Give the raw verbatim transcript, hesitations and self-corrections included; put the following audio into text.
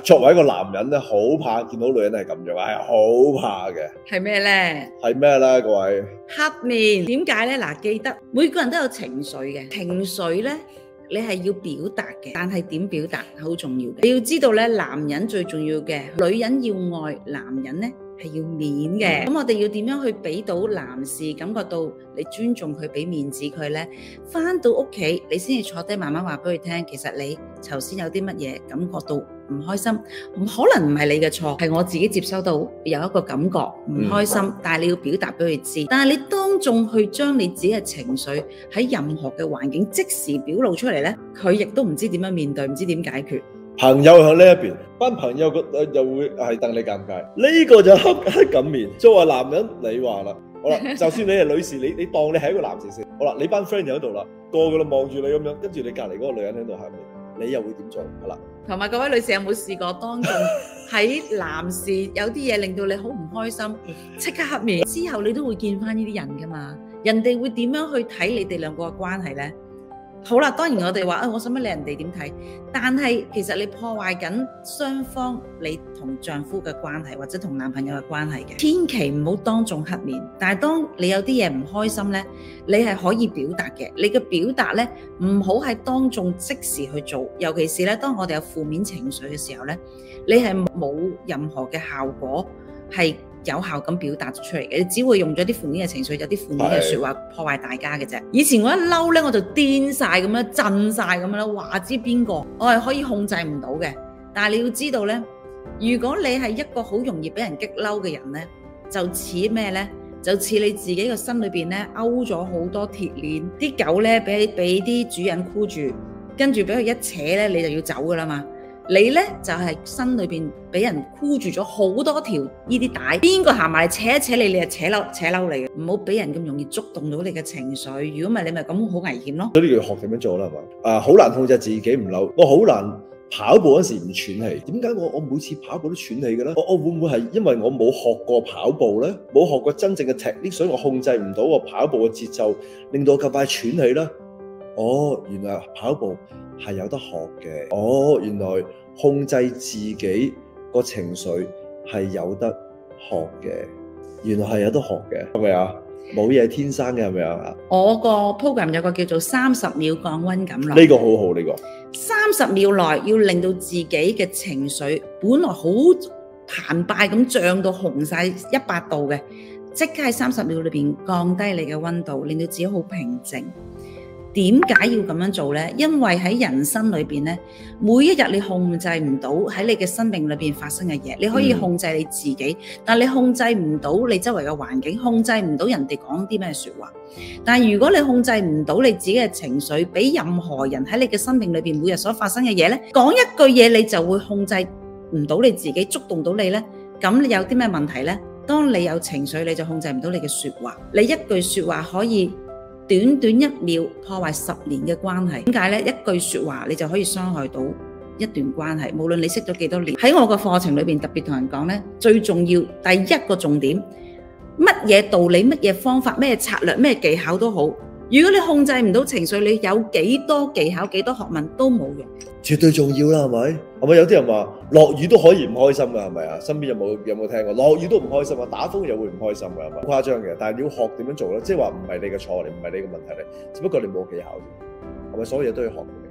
作為一個男人咧，好怕見到女人係咁樣，係好怕嘅。係咩咧？係咩咧？各位，黑面點解咧？嗱，記得每個人都有情緒嘅，情緒咧。你係要表達嘅，但係點表達好重要嘅。你要知道咧，男人最重要嘅，女人要愛，男人咧係要面嘅。咁我哋要點樣去俾到男士感覺到你尊重佢，俾面子佢咧？返到屋企，你先至坐低慢慢話俾佢聽，其實你頭先有啲乜嘢感覺到唔開心，可能唔係你嘅錯，係我自己接收到有一個感覺唔開心，嗯、但係你要表達俾佢知。但係你當眾去將你自己嘅情緒喺任何嘅環境即時表露出嚟咧，佢亦都唔知點樣面對，唔知點解決。朋友喺呢一邊，班朋友個又會係戥你尷尬。呢、這個就黑黑咁面。作為男人，你話啦，好啦，就算你係女士，你你當你係一個男士先，好啦，你班 friend 就喺度啦，個個都望住你咁樣，跟住你隔籬嗰個女人喺度黑面。你又會點做？係啦，同埋各位女士有冇試過當眾喺男士有啲嘢令到你好唔開心，即刻黑面之後，你都會見翻呢啲人噶嘛？人哋會點樣去睇你哋兩個嘅關係呢？好啦，當然我哋話啊，我使乜理人哋點睇？但係其實你破壞緊雙方你同丈夫嘅關係，或者同男朋友嘅關係嘅，千祈唔好當眾黑面。但係當你有啲嘢唔開心呢，你係可以表達嘅。你嘅表達呢，唔好係當眾即時去做，尤其是呢，當我哋有負面情緒嘅時候呢，你係冇任何嘅效果係有效咁表達出嚟嘅，你只會用咗啲負面嘅情緒，有啲負面嘅說話破壞大家嘅啫。以前我一嬲咧，我就癲晒咁樣，震晒咁樣啦，話知邊個，我係可以控制唔到嘅。但係你要知道咧，如果你係一個好容易俾人激嬲嘅人咧，就似咩咧？就似你自己個身裏邊咧勾咗好多鐵鏈，啲狗咧俾俾啲主人箍住，跟住俾佢一扯咧，你就要走噶啦嘛。你呢就係、是、身裏邊俾人箍住咗好多條呢啲帶，邊個行埋嚟扯一扯你，你就扯嬲扯嬲你嘅，唔好俾人咁容易觸動到你嘅情緒。如果唔係，你咪咁好危險咯。所以你要學點樣做啦，係嘛？啊，好難控制自己唔嬲，我好難跑步嗰時唔喘氣。點解我我每次跑步都喘氣嘅咧？我我會唔會係因為我冇學過跑步咧？冇學過真正嘅 technique，所以我控制唔到我跑步嘅節奏，令到我咁快喘氣咧？哦，原來跑步係有得學嘅。哦，原來控制自己個情緒係有得學嘅。原來係有得學嘅，係咪啊？冇嘢天生嘅，係咪啊？我個 program 有個叫做三十秒降溫感咯。呢個好好，呢個三十秒內要令到自己嘅情緒本來好澎湃咁漲到紅晒一百度嘅，即刻喺三十秒裏邊降低你嘅溫度，令到自己好平靜。點解要咁樣做呢？因為喺人生裏邊咧，每一日你控制唔到喺你嘅生命裏邊發生嘅嘢，你可以控制你自己，嗯、但你控制唔到你周圍嘅環境，控制唔到人哋講啲咩說話。但係如果你控制唔到你自己嘅情緒，俾任何人喺你嘅生命裏邊每日所發生嘅嘢咧，講一句嘢你就會控制唔到你自己，觸動到你呢。咁你有啲咩問題呢？當你有情緒，你就控制唔到你嘅說話，你一句說話可以短短一秒破壞十年嘅關係。點解呢？一句說話你就可以傷害到一段關係，無論你識咗幾多年。喺我個課程裏邊特別同人講呢，最重要第一個重點，乜嘢道理、乜嘢方法、咩策略、咩技巧都好，如果你控制唔到情緒，你有幾多技巧、幾多學問都冇用。絕對重要啦，係咪？係咪有啲人話落雨都可以唔開心噶？係咪啊？身邊有冇有冇聽過落雨都唔開心啊？打風又會唔開心噶？係咪？誇張嘅，但係你要學點樣做咧，即係話唔係你嘅錯嚟，唔係你嘅問題嚟，只不過你冇技巧啫。係咪所有嘢都要學嘅？